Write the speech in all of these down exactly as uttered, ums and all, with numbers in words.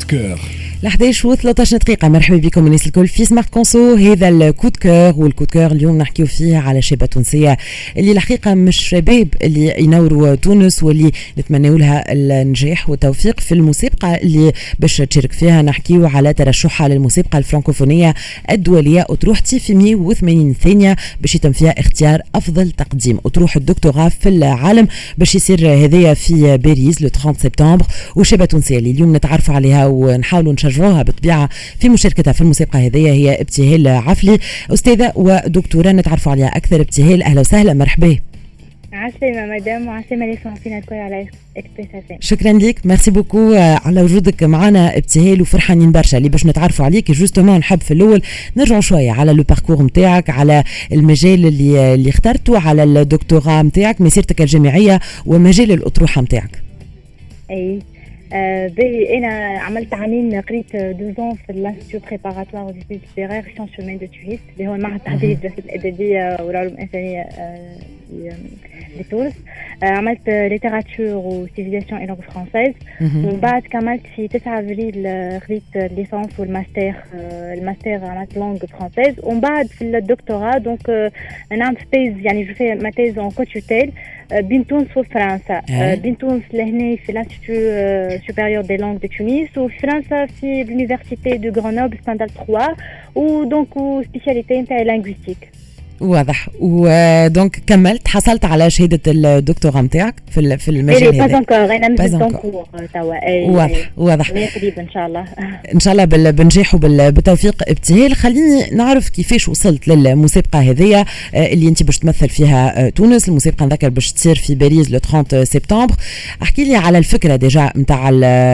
كور الحداش وثلاثة دقيقة. مرحبا بكم الناس الكل في سمارت كونسو. هذا الكود كور والكود كور اليوم نحكيو فيه على شابة تونسية اللي الحقيقة مش شباب اللي ينوروا تونس واللي نتمنوا لها النجاح والتوفيق في المسابقة اللي باش تشارك فيها. نحكيو على ترشحها للمسابقة الفرنكوفونية الدولية أطروحتي في مئة وثمانين ثانية باش يتم فيها اختيار أفضل تقديم أطروحة الدكتوراه في العالم باش يصير هذايا في باريس لو ثلاثين سبتمبر. وشابة تونسية اللي اليوم نتعرفوا عليها ونحاولوا نشجعوها بالطبيعة في مشاركتها في المسابقة هذه هي ابتهال عفلي، أستاذة ودكتورة نتعرفوا عليها أكثر. ابتهال أهلا وسهلا، مرحبا. عسلامة مدام وعسلامة لي صحفينا الكل على اكسبريس اف ام. شكرا لك، ميرسي بوكو على وجودك معنا ابتهال، وفرحانين برشا اللي باش نتعرفوا عليك. جوستومون نحب في الاول نرجعوا شويه على لو باركور نتاعك، على المجال اللي اللي اخترته، على الدكتوراه نتاعك، مسيرتك الجامعيه ومجال الاطروحه نتاعك. اي آه بي انا عملت عامين قريت دوزون في الانستيتيو بريباراتوار او ديتيد ليتيرير سيونس هومان دو تونس اللي هو المعهد التحضيري للدراسات الادبيه والعلوم الانسانيه آه في تونس. آه عملت ليتيراتور وسيفيليزاسيون اي لونغ فرونسيز، ومن بعد كملت في تسعة افريل خذيت الليسانس والماستر. آه الماستر عملت لونغ فرونسيز، ومن بعد في الدكتوراه دونك آه نعمل تيز يعني جو في ما تيز اون كوتوتيل بين تونس وفرنسا. آه بين تونس لهنا في الانستيتيو supérieur des langues de Tunis وفي فرنسا في l'université de Grenoble ستاندرد ثلاثة ودونك وسبيشاليتي نتاعي لينغويستيك. واضح. ودونك كملت حصلت على شهاده الدكتوراه نتاعك في في المجال هذا؟ باز انكور، انا مازلت انكور توا. واضح واضح، قريب ان شاء الله ان شاء الله بالنجاح وبالتوفيق. ابتهال، خليني نعرف كيفاش وصلت للمسابقه هذه اللي انت باش تمثل فيها تونس. المسابقه نذكر باش تصير في باريس لو ثلاثين سبتمبر. احكي لي على الفكره ديجا نتاع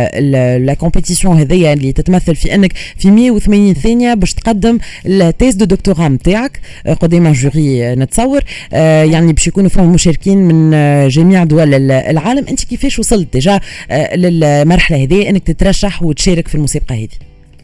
لا كومبيتيسيون هذه اللي تتمثل في انك في مئة وثمانين ثانيه باش تقدم التيز دو دكتوراه نتاعك قدام جوري نتصور. آه يعني باش يكونوا فيهم مشاركين من آه جميع دول العالم. انت كيفاش وصلت ديجا آه للمرحله هذه انك تترشح وتشارك في المسابقه هذه؟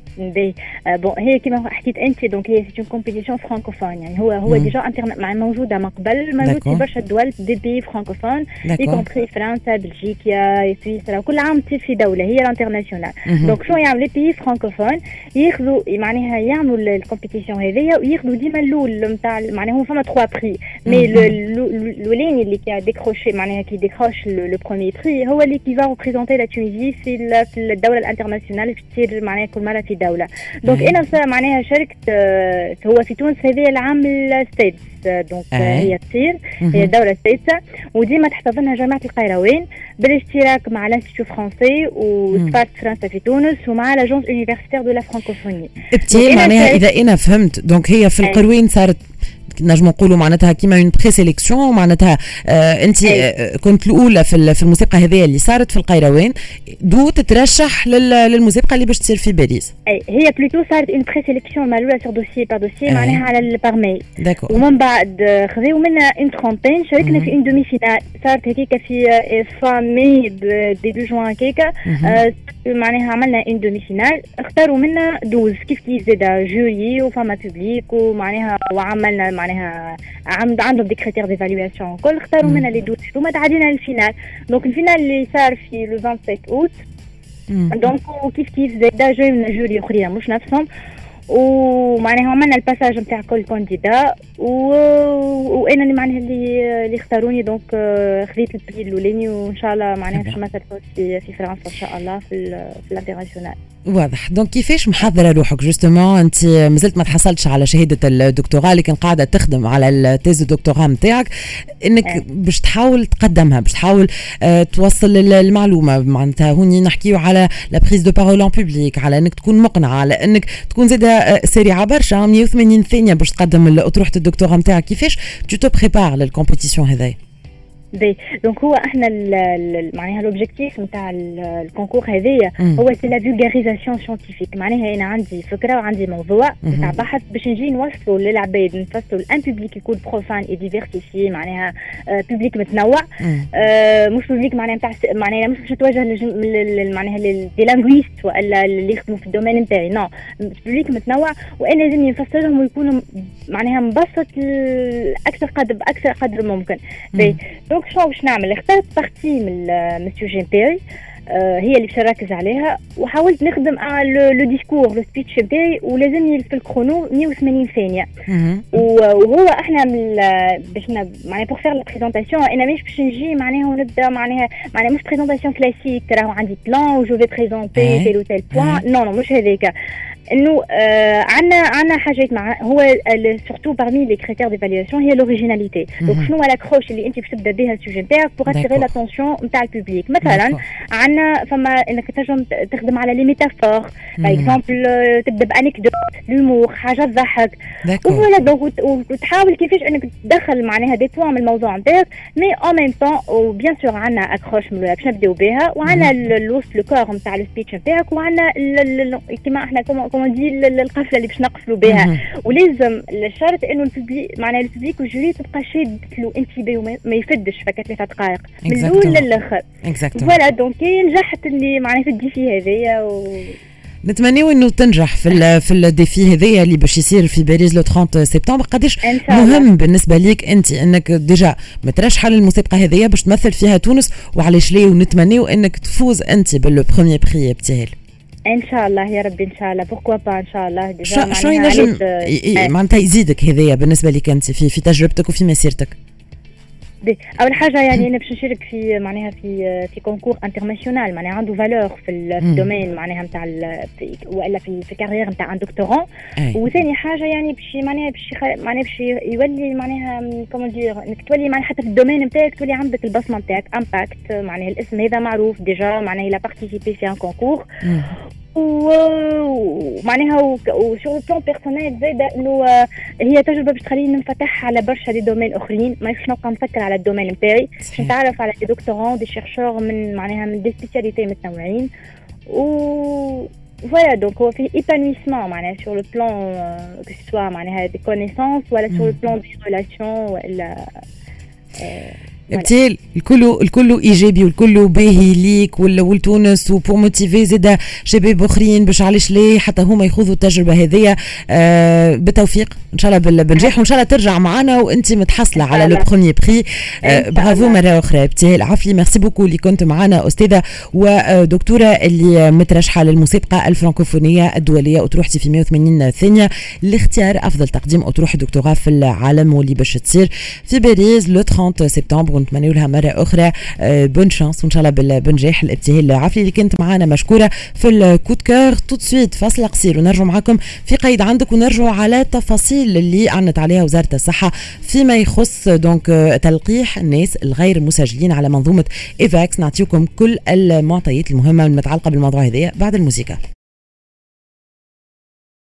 بي بون هي كما حكيت انت دونك هي سي اون كومبيتيسيون فرانكوفون، يعني هو هو ديجا انترنت مع موجوده من قبل، موجود في برشا دول دي بي فرانكوفون اي كومبري فرنسا بلجيكا سويسرا، كل عام تصير في دوله هي الانترناسيونال. دونك شنو يعمل لي بي فرانكوفون ياخذوا معناها يعملوا الكومبيتيسيون هذيا وياخذوا ديما الاول نتاع معناها هو فما ثلاثة بري، مي الاولاني اللي كي ديكروشي معناها كي ديكروش لو بروميير بري هو اللي كي فا ريبريزونتي لا تونيزي في في الدوله الانترناسيونال اللي تصير معناها كل مره في دولة. دونك انا معناها شاركت هو في تونس هذه العام السادس، دونك هي تصير هي الدوله السادسه، وديما تحتضنها جامعه القيروان بالاشتراك مع الانستيتيو فرونسي وسفاره فرنسا في تونس ومع لاجونس يونيفرسيتير دو لا فرانكوفوني. ابتي معناها اذا انا فهمت دونك هي في القروين صارت نجم نقولوا معناتها كيما اون بري سيليكسيون، معناتها آه انت آه كنت الاولى في في المسابقه هذه اللي صارت في القيروان، دو تترشح للمسابقه اللي باش تصير في باريس. اي هي بلوتو صارت اون بري سيليكسيون مالولا سور دوسيي بار دوسيي معناها على البارمي، ومن بعد خذيو منا اون ترونتين شاركنا في اون دومي فينال صارت هكيكا في فامي ديبي جوان هكيكا. آه معناها عملنا اون دومي فينال اختاروا منا دوز كيف كيف زاده جوري وفما بوبليك ومعناها وعملنا معناها عندهم دي كريتير ديفالواسيون كل اختاروا منا لي دوز وما تعدينا للفينال. دونك الفينال اللي صار في لو سبعة وعشرين اوت دونك كيف كيف زاده جاي من جوري اخرين مش نفسهم، ومعناها عملنا الباساج نتاع كل كانديدا وانا اللي معناها اللي اللي اختاروني. دونك خذيت البري الاولاني وان شاء الله معناها باش نمثل في في فرنسا ان شاء الله في في الانترناسيونال. واضح. دونك كيفاش محضره روحك جوستومون؟ انت مازلت ما تحصلتش على شهاده الدكتوراه لكن قاعده تخدم على التيز الدكتوراه نتاعك انك أه. باش تحاول تقدمها، باش تحاول أه توصل المعلومه. معناتها هوني نحكيو على لا بريز دو بارول ان بوبليك، على انك تكون مقنعه، على انك تكون زاده سريعه برشا. مئة وثمانين ثانيه باش تقدم اطروحه الدكتوراه نتاعك. كيفاش تو تو بريبار للكومبيتيسيون هذايا؟ بي دونك هو احنا معناها لوبجيكتيف نتاع الكونكور هذايا هو سي لا فولغاريزاسيون سيانتيفيك. معناها انا عندي فكره وعندي موضوع نتاع بحث باش نجي نوصلوا للعباد، نفصلوا الان بوبليك يكون بروفان اي ديفيرسيفي، معناها بوبليك متنوع، آه مش بوبليك معناها نتاع معناها مش باش نتوجه معناها دي لانغويست ولا اللي يخدموا في الدومين نتاعي، نو بوبليك متنوع وانا لازم نفصلهم ويكونوا معناها مبسط اكثر قدر باكثر قدر ممكن. بي دونك شنو باش نعمل؟ اخترت بارتي من السوجي نتاعي هي اللي باش نركز عليها. وحاولت نخدم على لو ديسكور لو سبيتش نتاعي ولازمني في الكرونو مية وثمانين ثانيه. وهو احنا باش معناها بور فير لا بريزونطاسيون انا مش باش نجي معناها ونبدا معناها معناها مش بريزونطاسيون كلاسيك ترى عندي بلان وجو في بريزونتي تيل تيل بوان. نو نو مش هذاك. انه آه عندنا عندنا حاجات مع هو سورتو بارمي لي كريتير ديفالياسيون هي لوريجيناليتي. دونك شنو هو لاكروش اللي انت باش تبدا بها السوجي نتاعك بوغ اتيري لاتونسيون نتاع البوبليك. مثلا عندنا فما انك تنجم تخدم على لي ميتافور باغ اكزومبل تبدا بانكدوت لومور حاجه تضحك ولا دونك وتحاول كيفاش انك تدخل معناها دي بوان من الموضوع نتاعك مي اون ميم طون. وبيان سور عندنا اكروش باش نبداو بها وعندنا الوسط لو كور نتاع السبيتش نتاعك وعندنا كيما احنا كما دي القفله اللي باش نقفلوا بها. ولازم الشرط انه الببليك معناها الببليك والجوري تبقى شاد له انتباه وما يفدش فك ثلاث دقائق من الاول للاخر. فوالا دونك نجحت اللي معناها في الديفي هذايا و نتمنيو انه تنجح في في الديفي هذايا اللي باش يصير في باريس لو ثلاثين سبتمبر. قداش مهم بالنسبه ليك انت انك ديجا مترشحه للمسابقه هذايا باش تمثل فيها تونس وعلاش ليه ونتمنيو انك تفوز انت بالبريمير بري ابتهال ان شاء الله يا ربي ان شاء الله. بوركوا با ان شاء الله. ديجا شنو ينجم معناتها يزيدك هذايا بالنسبه لك انت في في تجربتك وفي مسيرتك؟ اول حاجه يعني انا باش نشارك في معناها في في كونكور انترناسيونال معناها عنده فالور في الدومين معناها نتاع والا في في كارير نتاع ان دكتورون. وثاني حاجه يعني باش معناها باش معناها باش يولي معناها كومون دير انك تولي معناها حتى في الدومين نتاعك تولي عندك البصمه نتاعك امباكت معناها الاسم هذا معروف ديجا معناها لا بارتيسيبي في ان كونكور. ومعناها وسور البلان بيرسونيل زايده انه هي تجربه باش تخليني ننفتح على برشا دي دومين اخرين ما يخش نبقى نفكر على الدومين نتاعي باش نتعرف على دي دكتورون دي شيرشور من معناها من دي سبيسياليتي متنوعين. و فوالا دونك هو فيه ايبانويسمون معناها سور لو بلان كو سوا معناها دي كونيسونس ولا سور لو بلان دي ريلاسيون ولا ابتهال الكل الكل ايجابي والكل باهي ليك ولتونس وبور موتيفي زاده شباب اخرين باش علاش ليه حتى هما يخوضوا التجربه هذيا. آه بالتوفيق ان شاء الله بالنجاح وان شاء الله ترجع معنا وانت متحصله على لو بروميير بري. آه برافو مره اخرى ابتهال عفلي. ميرسي بوكو اللي كنت معنا استاذه ودكتوره اللي مترشحه للمسابقه الفرنكوفونيه الدوليه وتروحتي في مية وثمانين ثانيه لاختيار افضل تقديم اطروحه دكتوراه في العالم واللي باش تصير في باريس لو ثلاثين سبتمبر. ونتمنى لها مرة أخرى بون شانس وإن شاء الله بالنجاح. الابتهال عفلي اللي كنت معنا مشكورة في الكود كور. توت سويت فاصل قصير ونرجع معكم في قيد عندك ونرجع على التفاصيل اللي أعلنت عليها وزارة الصحة فيما يخص دونك تلقيح الناس الغير مسجلين على منظومة إيفاكس. نعطيكم كل المعطيات المهمة المتعلقة بالموضوع هذا بعد الموسيقى.